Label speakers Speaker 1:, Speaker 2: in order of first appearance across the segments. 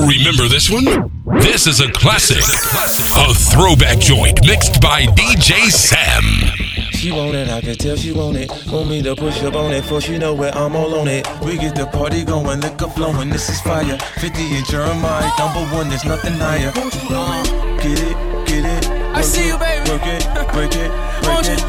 Speaker 1: Remember this one? This is a classic. A throwback joint mixed by DJ Sam.
Speaker 2: She want it, I can tell she want it. Want me to push up on it, for she know where I'm all on it. We get the party going, liquor flowing, this is fire. 50 and Jeremiah, #1, there's nothing higher. Get it.
Speaker 3: I see you, baby.
Speaker 2: Work it, break it, break it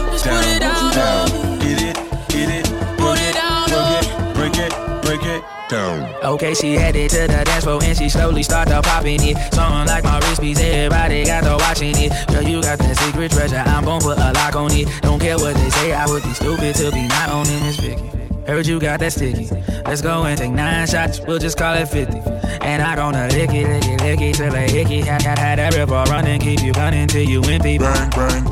Speaker 2: down. Get it, put it down. Work it, break it down.
Speaker 3: Okay, she headed to the dance floor and she slowly started popping it. Something like my wrist piece, everybody got to watching it. Girl, you got that secret treasure, I'm gon' put a lock on it. Don't care what they say, I would be stupid to be not owning this Vicky. Heard you got that sticky. Let's go and take 9 shots, we'll just call it 50. And I gonna lick it till a hickey. Had that river running, keep you running till you empty.
Speaker 4: Bang.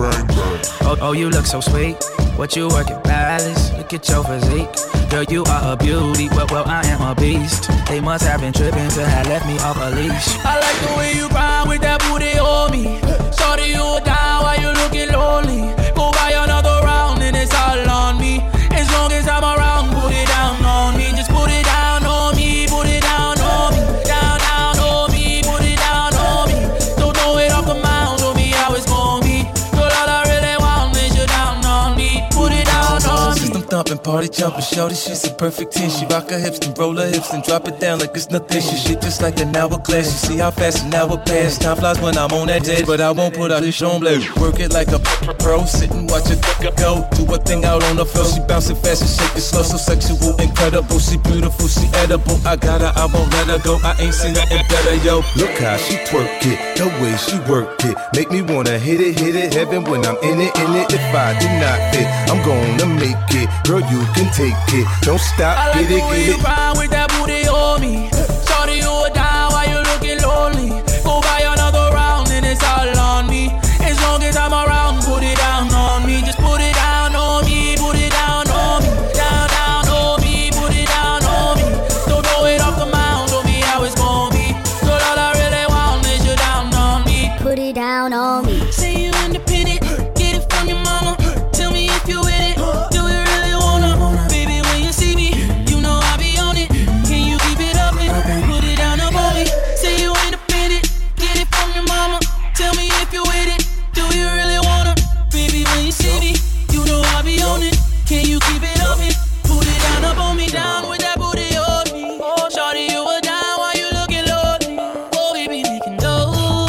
Speaker 3: Oh, you look so sweet. What you working, balance? Look at your physique. Girl, you are a beauty. Well, I am a beast. They must have been tripping to have left me off a leash. I like the way you grind with that booty on me. Shorty, you down while you looking lonely. Go buy another round and it's all on me. As long as I'm around, put it down on me. Just put it down on me. Put it down on me. Down on me. Put it down on me. Don't throw it off the mound. Show me how it's gonna be. Girl, all I really want is you down on me. Put it down on me.
Speaker 2: System thumping, party jumping, shorty, she's a perfect 10. She rock her hips and roll her hips and drop it down like it's nothing. She shit just like an hourglass. You see how fast an hour pass. Time flies when I'm on that jet, but I won't put out this on blade. Work it like a pro, sit and watch it go. Do a thing out on the floor. She bouncing fast and shake it slow, so sexual, incredible. She beautiful, she edible. I got her, I won't let her go. I ain't seen nothing better, yo.
Speaker 4: Look how she twerk it, the way she work it. Make me wanna hit it, heaven when I'm in it. If I do not fit, I'm gonna make it. Girl, you can take it, don't stop,
Speaker 3: I like
Speaker 4: get
Speaker 3: the way
Speaker 4: it.
Speaker 3: you grind with that booty on me. Shorty, you down while you looking lonely. Go buy another round and it's all on me. As long as I'm around, put it down on me. Just put it down on me. Put it down on me. Down on me. Put it down on me. Don't throw it off the mound. Show me how it's gonna be. Girl, all I really want is you down on me.
Speaker 5: Put it down on me.
Speaker 3: Say you independent. Get it from your mama. Tell me if you with it. Do you really wanna? Baby, when you see me, you know I be on it. Can you keep it up and put it down on me? Say you independent. Get it from your mama. Tell me if you with it. Do you really wanna? Baby, when you see me, you know I be on it. Can you keep it up and put it down up on me? Down with that booty on me. Shorty, you were down while you looking lonely. Oh, baby, we can go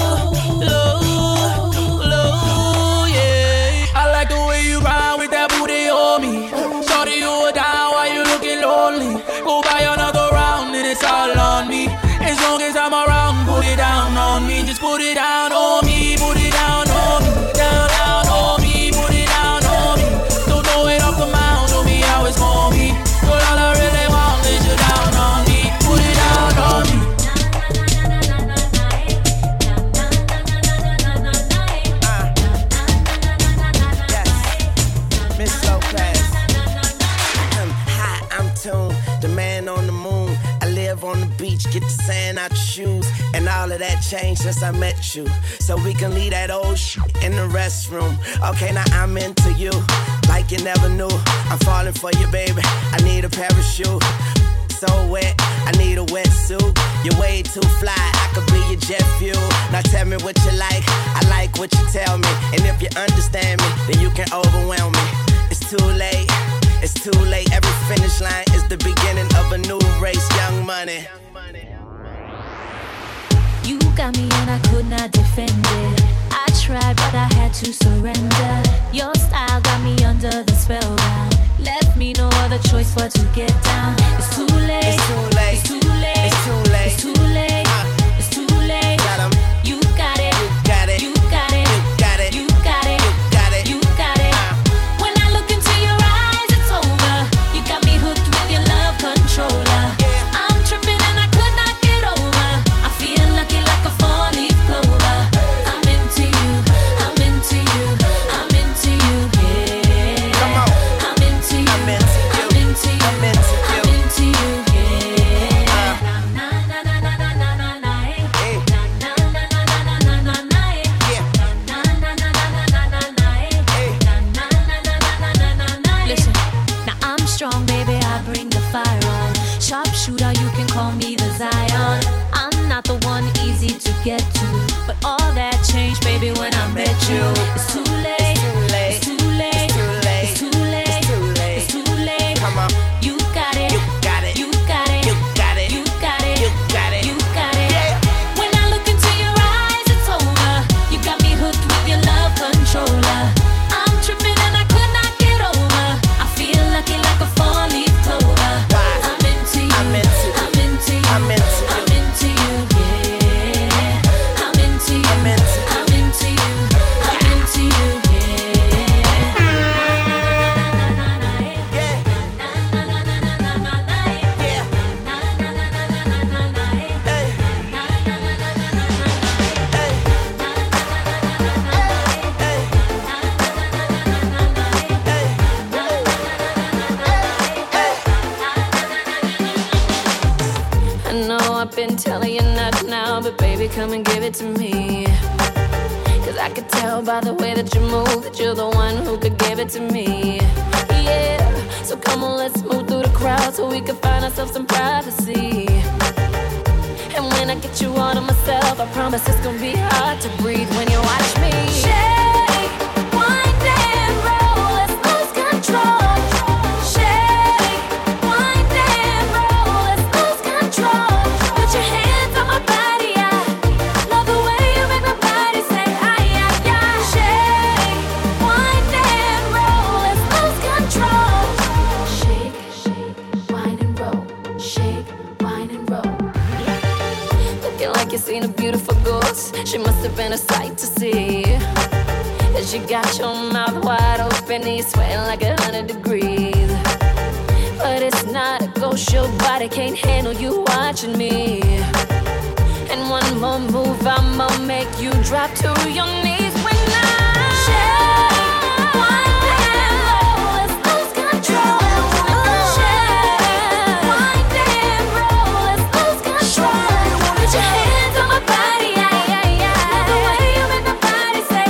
Speaker 3: low, yeah. I like the way you ride with that booty on me. Shorty, you were down while you looking lonely. Go buy another round and it's all on me. As long as I'm around, put it down on me. Just put it down on me. Put it down on me. Down on me. Put it down on me. Don't throw it off the mound. Show me how it's gonna be. Girl, all I really want is you down on me. Put it down on me.
Speaker 6: Miss Lopez. Hi, I'm Tune, the man on the moon. I live on the beach, get the sand out your shoes. And all of that changed since I met you. So we can leave that old shit in the restroom. Okay, now I'm into you, like you never knew. I'm falling for you, baby, I need a parachute. So wet, I need a wetsuit. You're way too fly, I could be your jet fuel. Now tell me what you like, I like what you tell me. And if you understand me, then you can overwhelm me. It's too late, it's too late. Every finish line is the beginning of a new race. Young Money.
Speaker 5: You got me and I could not defend it. I tried but I had to surrender. Your style got me under the spellbound. Left me no other choice but to get down. It's too late,
Speaker 6: It's too late,
Speaker 5: it's too late,
Speaker 6: it's too late,
Speaker 5: it's too late, it's too late.
Speaker 6: Got 'em.
Speaker 5: You got it,
Speaker 6: You got it,
Speaker 5: you got it,
Speaker 6: you got it,
Speaker 5: you got it,
Speaker 6: you got it,
Speaker 5: you got it. When I look into your eyes, it's over. You got me hooked with your love controller. I'm tripping and I could not get over. I feel lucky like a 4-leaf clover. I'm into you, I'm into you, I'm into you, yeah.
Speaker 6: Come on.
Speaker 5: I'm into you,
Speaker 6: I'm into you,
Speaker 5: I'm into you,
Speaker 6: I'm into you.
Speaker 5: I'm into you, yeah. Na na na get to. But all that changed, baby, when I met you. It's too late. It's too late. It's too late. It's too late.
Speaker 6: Come on.
Speaker 5: You got it.
Speaker 6: You got it.
Speaker 5: You got it.
Speaker 6: You got it.
Speaker 5: You got it.
Speaker 6: You got it.
Speaker 5: You got it.
Speaker 6: Yeah.
Speaker 5: When I look into your eyes, it's over. You got me hooked with your love controller. I'm tripping and I could not get over. I feel lucky like a four-leaf clover. I'm into you.
Speaker 6: I'm into you.
Speaker 5: I'm into you.
Speaker 6: I'm into you.
Speaker 5: I'm into you. Yeah. I'm into you.
Speaker 6: I'm into you.
Speaker 5: I'm into you. I'm into you. I've been telling you not now, but baby, come and give it to me. Cause I could tell by the way that you move that you're the one who could give it to me. Yeah, so come on, let's move through the crowd so we can find ourselves some privacy. And when I get you all to myself, I promise it's gonna be hard to breathe when you watch me. Shake, wind and roll, let's lose control. Seen a beautiful ghost, she must have been a sight to see. And she got your mouth wide open and you're sweating like 100 degrees. But it's not a ghost, your body can't handle you watching me. And one more move, I'ma make you drop to your knees when I shake, wind and roll, let's lose control. Shake, wind and roll, let's lose control. Put your hands on my body, love the way you make my body say,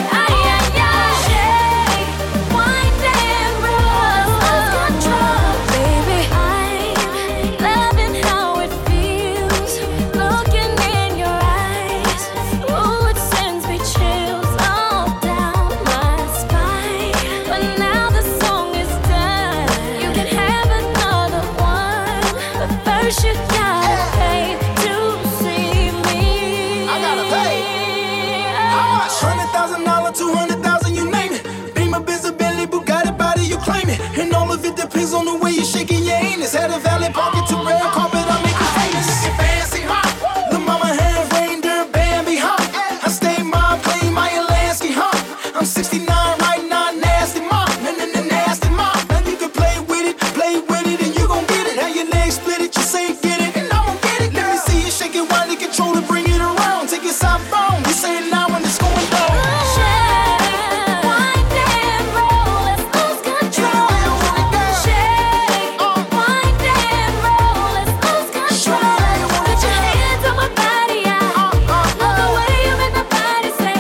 Speaker 5: shake, wind and roll, let's lose control. Baby, I'm loving how it feels, looking in your eyes. Ooh, it sends me chills all down my spine. But now the song is done, you can have another one, but first you gotta pay to see me.
Speaker 7: I gotta pay. How much? $100,000, 200,000, you name it. Beamer, Benz, Bentley, Bugatti, body, you claim it. And all of it depends on the way you're shaking your anus. Had a valet parking to red carpet, I make you famous. Fancy, huh? The mama had reindeer, Bambi, huh? I stay mom, play my Alaska, huh? I'm 69 right now, nasty mom, nasty mom. Now you can play with it, and you gon' get it. How your legs split it, you say get it, and I won't get it. Let me see you shake it, wind it, control it, bring it around. Take it southbound, you say it now when it's going down.
Speaker 5: Shake, wind and roll, let's lose control. Shake, wind and roll, let's lose control. Put your hands on my body, love the way you make my body say,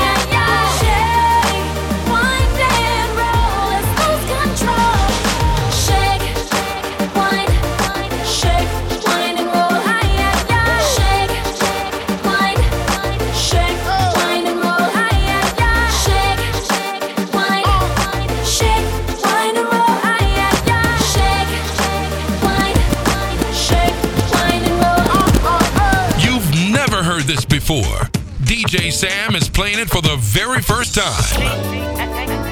Speaker 5: shake, wind and roll, let's lose control. Shake, wind, shake, wind and roll, shake, wind, shake, wind and roll, shake, wind, shake, wind and roll, shake, wind, shake, wind and roll.
Speaker 1: You've never heard this before. DJ Sam is playing it for the very first time.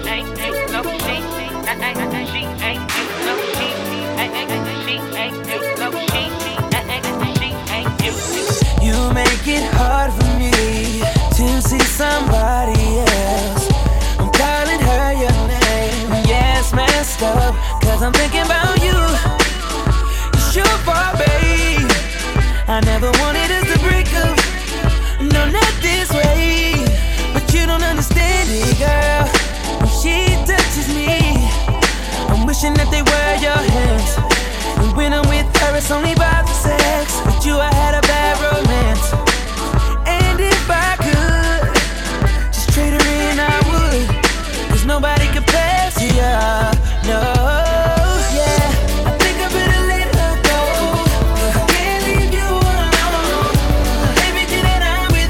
Speaker 3: You make it hard for me to see somebody else. I'm calling her your name. Yeah, it's messed up, cause I'm thinking about you. It's your fault, babe. I never wanted us to break up. No, not this way. But you don't understand it, girl. When she touches me, I'm wishing that they were your hands. And when I'm with her, it's only about the sex. With you, I had a bad romance. And if I could just trade her in, I would. Cause nobody compares to you. No, yeah. I think I better let her go. I can't leave you alone. Everything that I'm with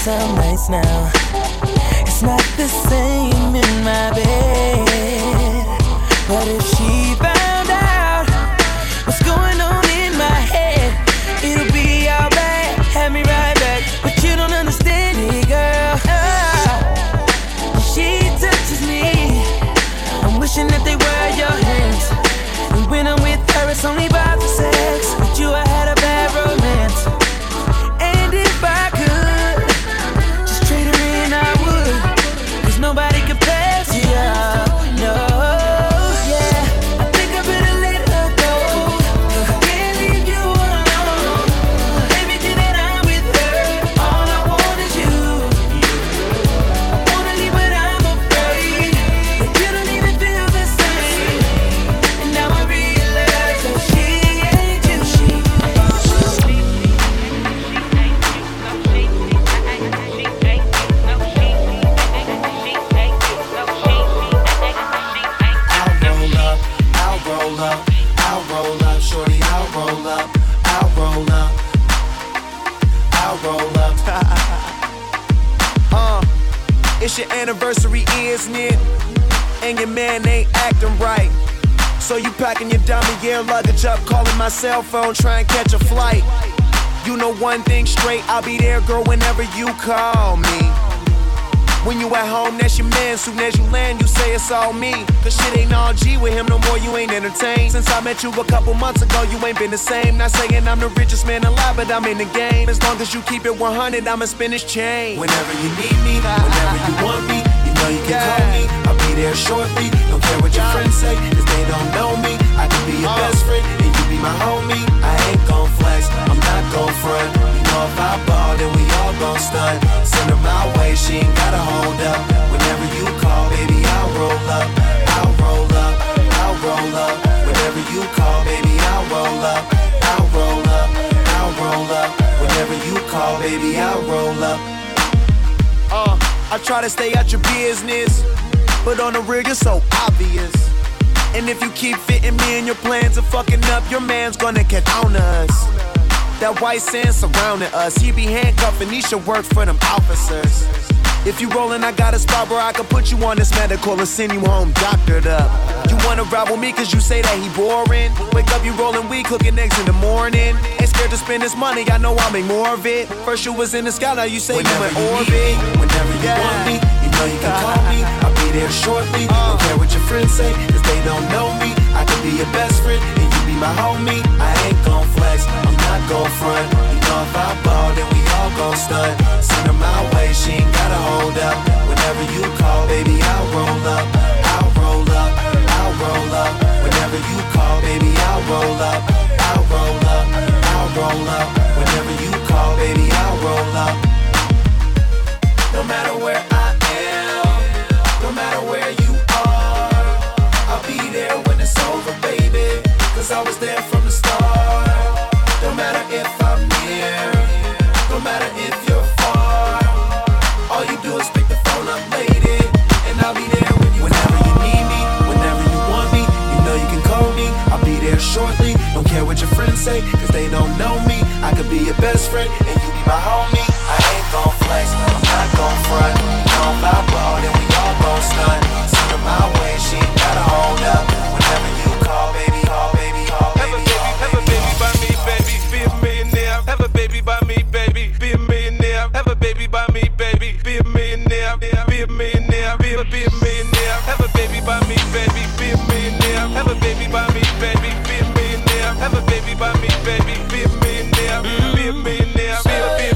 Speaker 3: some nights now. It's not the same in my bed. But if she found out what's going on in my head, it'll be all bad, have me right back. But you don't understand it, girl. She touches me, I'm wishing that they were your hands. And when I'm with her, it's only about the sex. With you, I had a bad romance. And if I could just trade her in, I would. 'Cause nobody compares to you, no. Yeah, I think I better let her go. I can't leave you alone. Everything that I'm with her, all I want is you. I wanna leave, but I'm afraid that you don't even feel the same. And now I realize that she ain't you.
Speaker 7: I'll roll up, shorty, I'll roll up, I'll roll up, I'll roll up. It's your anniversary, isn't it? And your man ain't acting right. So you packing your dummy gear luggage up, calling my cell phone, trying to catch a flight. You know one thing straight, I'll be there, girl, whenever you call me. When you at home, that's your man. Soon as you land, you say it's all me. 'Cause shit ain't all G with him no more, you ain't entertained. Since I met you a couple months ago, you ain't been the same. Not saying I'm the richest man alive, but I'm in the game. As long as you keep it 100, I'ma spin this chain. Whenever you need me, whenever you want me, you know you can call me. I'll be there shortly. Don't care what your friends say, 'cause they don't know me. I can be your best friend, and you be my homie. I ain't gon' flex, I'm not gon' front. You know if I ball, then we all gon' stunt. Send her my way, she ain't gotta hold up. Whenever you call, baby, I'll roll up. I'll roll up, I'll roll up. Whenever you call, baby, I'll roll up. I'll roll up, I'll roll up. Whenever you call, baby, I'll roll up. I try to stay out your business, but on the real, you're so obvious. And if you keep fitting me in your plans of fucking up, your man's gonna catch on to us. That white sand surrounding us, he be handcuffing, he should work for them officers. If you rollin', I got a spot where I can put you on this medical and send you home doctored up. You wanna ride with me 'cause you say that he boring. Wake up, you rollin' weed, cooking eggs in the morning. Ain't scared to spend this money, I know I'll make more of it. First you was in the sky, now you say whenever you in orbit. Whenever you want me, you know you can call me. I'll be there shortly. Don't care what your friends say, 'cause they don't know me. I can be your best friend, and you be my homie. I ain't gon' flex, I'm not gon' front. You know if I ball, then we all gon' stunt. Send her my way, she ain't gotta hold up. Whenever you call, baby, I'll roll up. I'll roll up, I'll roll up. Whenever you call, baby, I'll roll up. I'll roll up, I'll roll up. Whenever you call, baby, I'll roll up. No matter where I am, no matter where you are, I'll be there when it's over, baby. 'Cause I was there from the start. No matter if I'm near, no matter if you're far, all you do is pick the phone up, lady, and I'll be there when you whenever you need me, whenever you want me, you know you can call me. I'll be there shortly. Don't care what your friends say, 'cause they don't know me. I could be your best friend, and you be my homie. I ain't gon' flex, I'm not gon' front. You know if I ball, then we all gon' stunt. Send her my way, she ain't gotta hold up. Whenever you call, baby, call, baby, call, baby, call, baby.
Speaker 8: Have a baby by me, baby, be a millionaire. Have a baby by me, baby, be a millionaire. Have a baby by me, baby, be a millionaire. Be a millionaire, be a millionaire. Have a baby by me, baby, be a millionaire. Have a baby by me, baby, be a millionaire. Have a baby by me, baby, be a millionaire. Be a millionaire, be a millionaire.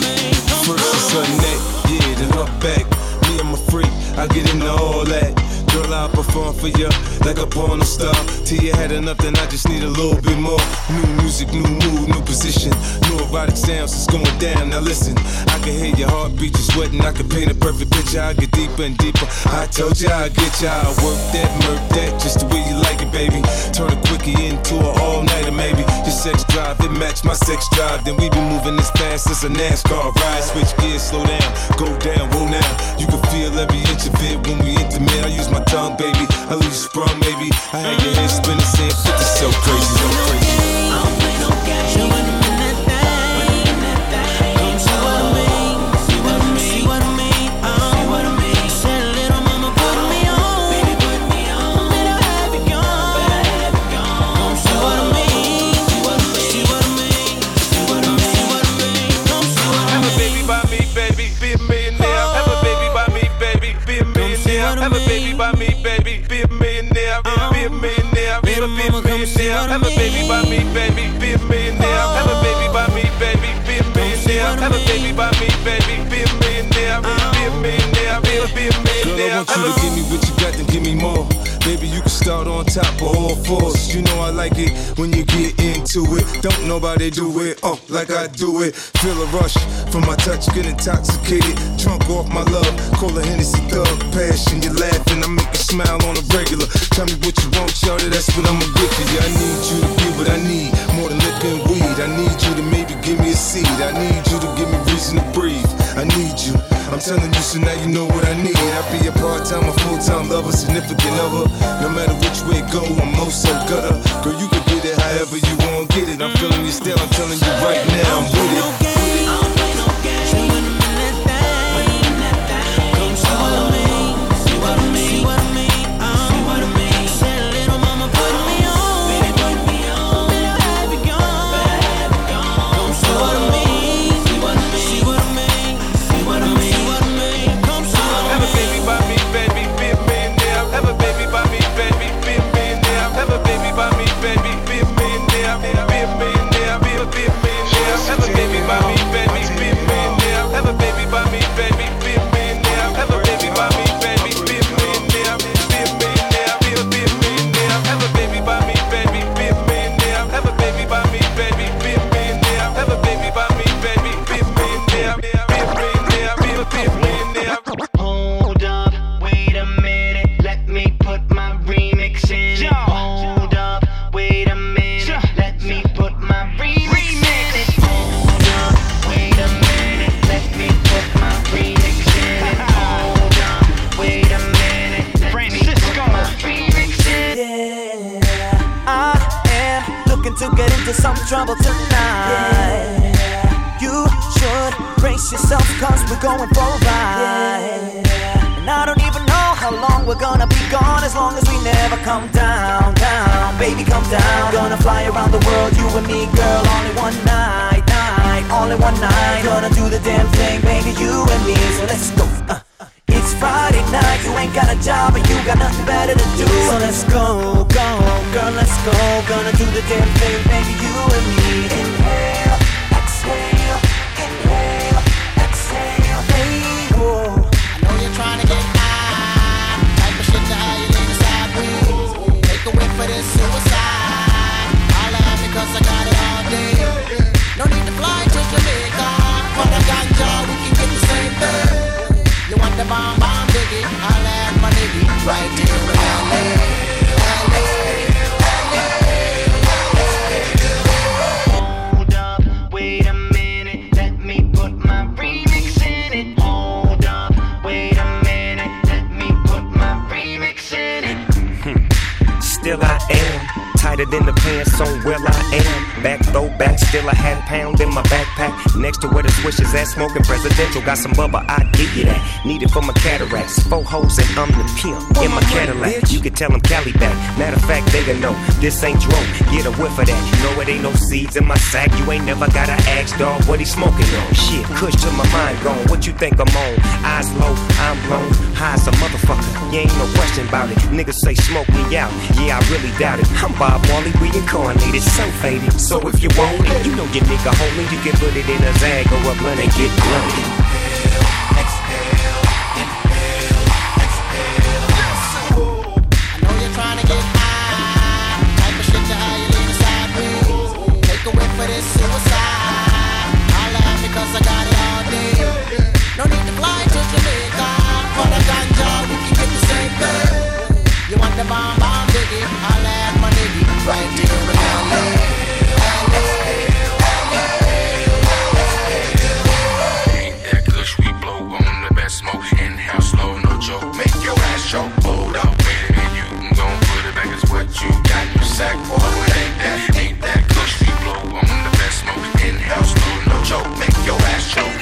Speaker 4: I get into all that.
Speaker 2: Girl, I'll perform for you like a porno star. Till you had enough, then I just need a little bit more. New music, new mood, new position. New erotic sounds, it's going down. Now listen, I can hear your heartbeat, you're sweating. I can paint a perfect picture. I get deeper and deeper. I told you I'd get you. I'll work that, murk that, just the way you like it, baby. Turn a quickie into an all-nighter, maybe. Your sex drive, it match my sex drive. Then we be moving as fast as a NASCAR ride. Switch gears, slow down, go down, roll now. You can feel every inch of it when we intimate. I use my tongue, baby. I leave you sprung, baby. I had your head spinning, saying, "This is so crazy, so crazy."
Speaker 9: I don't play no games. See what I mean? See what I mean? See what I mean? See what I mean? See what I mean? Said little mama put me on, baby put me on. Better have it gone, better have it gone. See what I mean? See what I mean? See what I mean? See what I mean? See what I mean? See what I mean?
Speaker 8: Have a baby by me, baby, be a millionaire. Have a baby by me, baby, be a millionaire. Have a baby by me, baby, be a millionaire. Be a millionaire, be a millionaire. Have a baby by me, baby, be a millionaire. Have a baby by me, baby, be a millionaire. Have a baby by me, baby, be a millionaire. Be a millionaire, be a millionaire.
Speaker 2: Girl, I want you to give me what you got, then give me more. Baby, you can start on top of all fours. You know I like it when you get into it. Don't nobody do it, like I do it. Feel a rush from my touch, get intoxicated. Drunk off my love, call a Hennessy thug. Passion, you're laughing, I make you smile on a regular. Tell me what you want, shawty, that's what I'ma get for you. I need you to give what I need, more than liquor and weed. I need you to maybe give me a seed. I need you to give me reason to breathe. I need you, I'm telling you, so now you know what I need. I'll be a part-time or full-time lover, significant other. No matter which way it go, I'm most so gutter. Girl, you can get it however you want, get it. I'm feeling you still, I'm telling you right now, I'm with it.
Speaker 9: Trouble tonight. You should brace yourself, cause we're going for a ride. And I don't even know how long we're gonna be gone, as long as we never come down, down. Baby, come down. Gonna fly around the world, you and me, girl, only one night, only one night. Gonna do the damn thing, baby, you and me, so let's go. It's Friday night, you ain't got a job and you got nothing better to do. So let's go, go, girl, let's go. Gonna do the damn thing, baby, you and me. Inhale, exhale, inhale, exhale, hey, whoa. I know you're trying to get high, type of shit to how you lean sideways. Take a whip for this suicide. Holla at me cause I got it all day. No need to fly to Jamaica. For the ganja, we can get the same thing. You want the bomb, bomb, diggy? I'll have my nigga right here in LA. Hold up, wait a minute, let me put my remix in it. Hold up, wait a minute, let me put my remix in it.
Speaker 10: Still I am tighter than the pants on where I am. Back throwback, still a half pound in my backpack. Next to where the swishers at, smoking presidential. Got some bubba, I give you that. Need it for my cataracts. 4 hoes and I'm the pimp in my Cadillac. You can tell them Cali back. Matter of fact, they gon' know this ain't drone. Get a whiff of that. No, it ain't no seeds in my sack. You ain't never gotta ask, dog, what he smoking on. Shit, kush to my mind gone. What you think I'm on? Eyes low, I'm blown. High as a motherfucker. You ain't no question about it. Niggas say smoke me out. Yeah, I really doubt it. I'm Bob Marley reincarnated, so faded. So if you want it, you know your nigga homie. You can put it in a Zag or a blunt and get blunted. Exhale, inhale, exhale.
Speaker 11: bomb bomb diggy. Holla at my nigga right here in LA.
Speaker 12: Ain't that kush we blow on the best smoke. In-house slow, no joke. Make your ass choke. Hold up with it and you can go put it back. It's what you got. You sack boy. Ain't that kush we blow on the best smoke. In-house slow, no joke. Make your ass choke.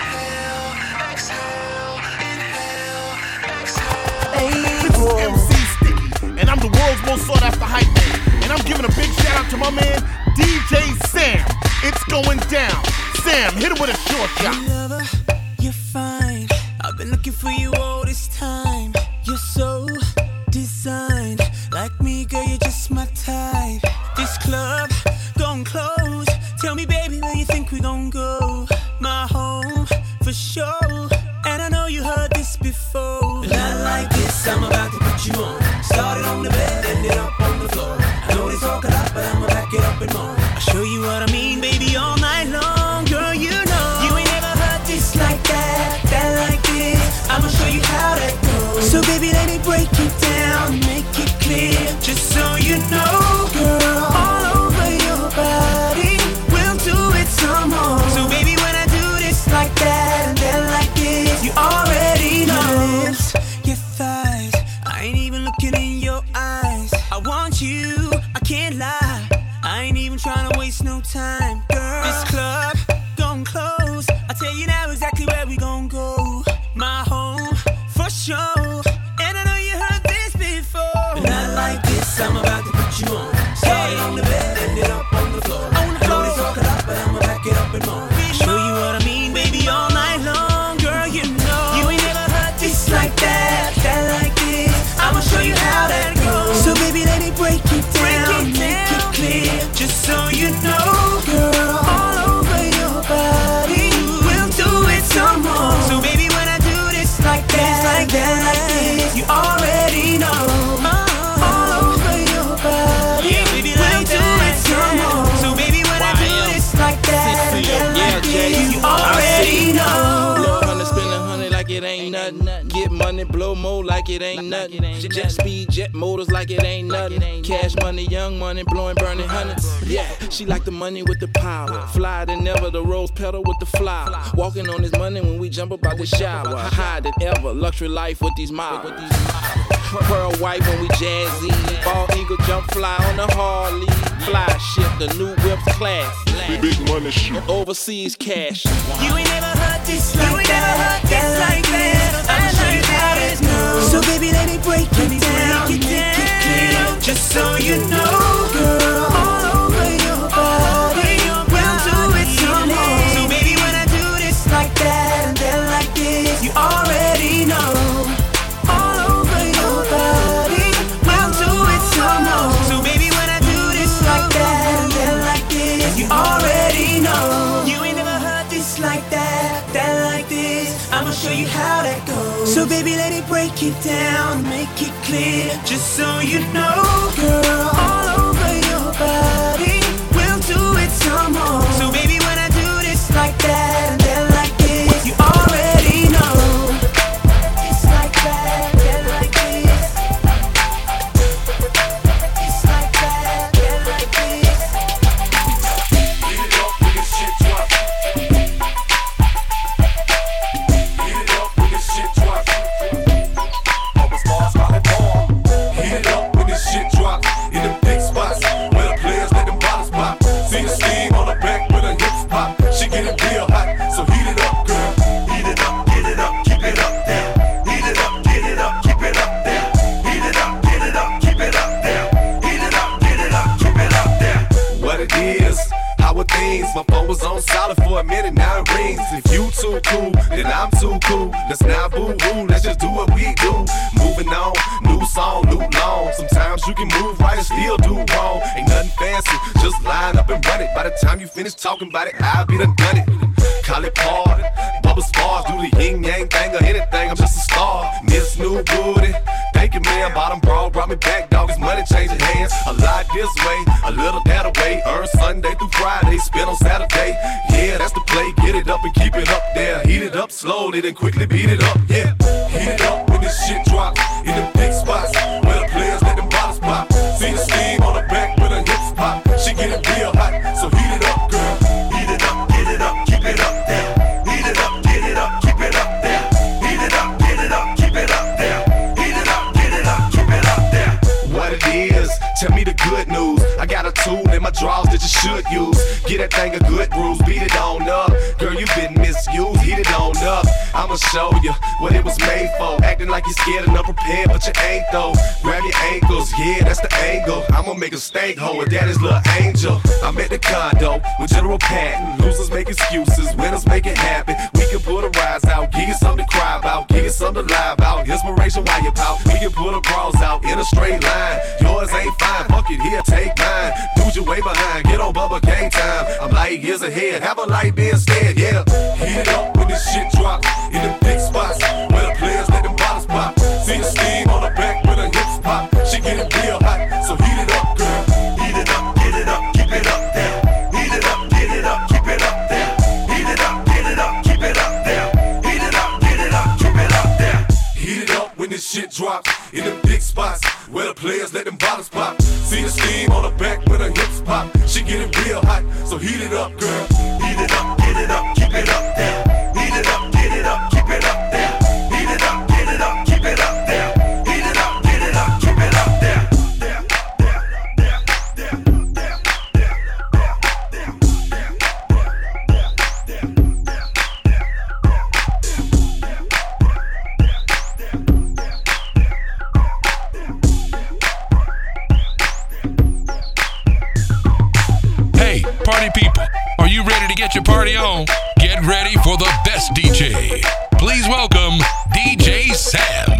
Speaker 13: MC Sticky, and I'm the world's most sought after hype man. And I'm giving a big shout out to my man, DJ Sam. It's going down. Sam, hit it with a short shot.
Speaker 14: Hey lover, you're fine. I've been looking for you all this time. You're so designed. Like me, girl, you're just my type. This club gon' close. Tell me, baby, where you think we gon' go? My home, for sure. And I know you heard this before. But not like this, I'm about to put you on. Started on the bed, ended up on the floor. I know they talk a lot, but I'ma back it up and more. I'll show you what I mean, baby, all night long. Girl, you know you ain't never heard this like that, that like this. I'ma show you how that goes. So baby, let me break it down, make it clear, just so you know, girl, all over your body, we'll do it some more. So baby, when I do this like that and then like this, you already know. Your lips, your thighs, I ain't even looking in your eyes. I want you, I can't lie, I ain't even trying to waste no time, girl. This club gon' close, I tell you now exactly where we gon' go. My home, for sure. And I know you heard this before. But not like this, I'm about to put you on. Started on the bed, ended up on the floor. I know they talk a lot, but I'ma back it up and more. Show you what I mean, baby, all night long. Girl, you know you ain't never heard this like that, that like this. I'ma show you how that goes. So baby, let me break it down, make it clear, just so you know, girl, all over your body, we'll do it some more. So baby, when I do this like that, like that, like this, you already know. All over your body, yeah, baby, we'll do it some more. So baby, when I do this like that, like this, you already know.
Speaker 2: Blow 100, spend 100 like it ain't nothing. Get money, blow more like it ain't nothing. Jet speed, jet motors like it ain't nothing. Cash money, young money, blowing, burning hundreds. Yeah, she like the money with the power. Fly than ever, the rose petal with the flower. Walking on this money when we jump up out the shower. Higher than ever, luxury life with these miles. Pearl white when we jazzy. Ball eagle jump fly on the Harley. Fly ship, the new whips class.
Speaker 13: Big money shit.
Speaker 2: Overseas cash.
Speaker 14: You ain't never heard this like that, like that. I'ma show you how that goes. So baby, let me break it down, make it clear, just so you know, girl, all over your body, we'll do it some more. So baby, when I do this like that and then like this, you already know. All over your body, we'll do it some more. So baby, when I do this like that and then like this, you already know. You ain't never heard this like that, that like this. I'ma show you how that goes. So baby, let it break it down, make it clear, just so you know, girl, all over your body, we'll do it some more. So baby, when I do this like that and then like this, you already know. It's like that, then like this. It's like that, then like this.
Speaker 12: Beat it up when this shit drop. Beat it up when this shit drop. Open stars, call it ball. Heat it up when this shit drop. In them big spots, where the players let them bottles pop. See the steam on the back with her hips pop. She getting real hot, so heat it up, girl. Heat it up, get it up, keep it up there. Heat it up, get it up, keep it up there. Heat it up, get it up, keep it up there. Heat it up, get it up, keep it up there. What it is, how are things? My phone was on solid for a minute, now it rings. If you too cool, then I'm too cool. Let's not boo-hoo, let's just do what we do. Moving on, new song, new long. Sometimes you can move right and still do wrong. Ain't nothing fancy, just line up and run it. By the time you finish talking about it, I'll be done it. Call it party, bubble spars, do the yin-yang thing or anything, I'm just a star. Miss New Booty, thank you man, bottom bra brought me back, dog, it's money changing hands. A lot this way, a little that away. Earn Sunday through Friday, spend on Saturday. Yeah, that's the play, get it up and keep it up there. Heat it up slowly, then quickly beat it up, yeah. Heat it up when this shit drop, in the big spots, where the players let them bottles tell me the good news. I got a tool in my drawers that you should use. Get that thing a good bruise, beat it on up. Girl, you been misused, heat it on up. I'ma show you what it was made for. Acting like you're scared and unprepared, but you ain't though. Grab your ankles, yeah, that's the angle. I'ma make a stank hole with daddy's little angel. I'm at the condo with General Patton. Losers make excuses, winners make it happen. We can put a rise out, give you something to cry about, give you something to lie about. Inspiration while you pout. We can put a bras out in a straight line. Yours ain't fine, fuck it, here, take mine. Dude, you way behind, get on Bubba Gang time. I'm light years ahead, have a light be instead, yeah. Heat it up when this shit drop in the big spots where the players let them bottles pop. See the steam on the back when the hips pop. She get it real hot, so heat it up, girl. Heat it up, get it up, keep it up there. Heat it up, get it up, keep it up there. Heat it up, get it up, keep it up there. Heat it up, get it up, keep it up there. Heat it up when this shit drops in the big spots where the players let them bottles pop. See the steam on the back when the hips pop. She get it real hot, so heat it up, girl. Heat it up, get it up, keep it up there. Heat it up, get it up, keep it up there. Heat it up, get it up, keep it up there. Heat it up, get it up, keep it up there.
Speaker 1: Party people, are you ready to get your party on? Get ready for the best DJ. Please welcome DJ Sam.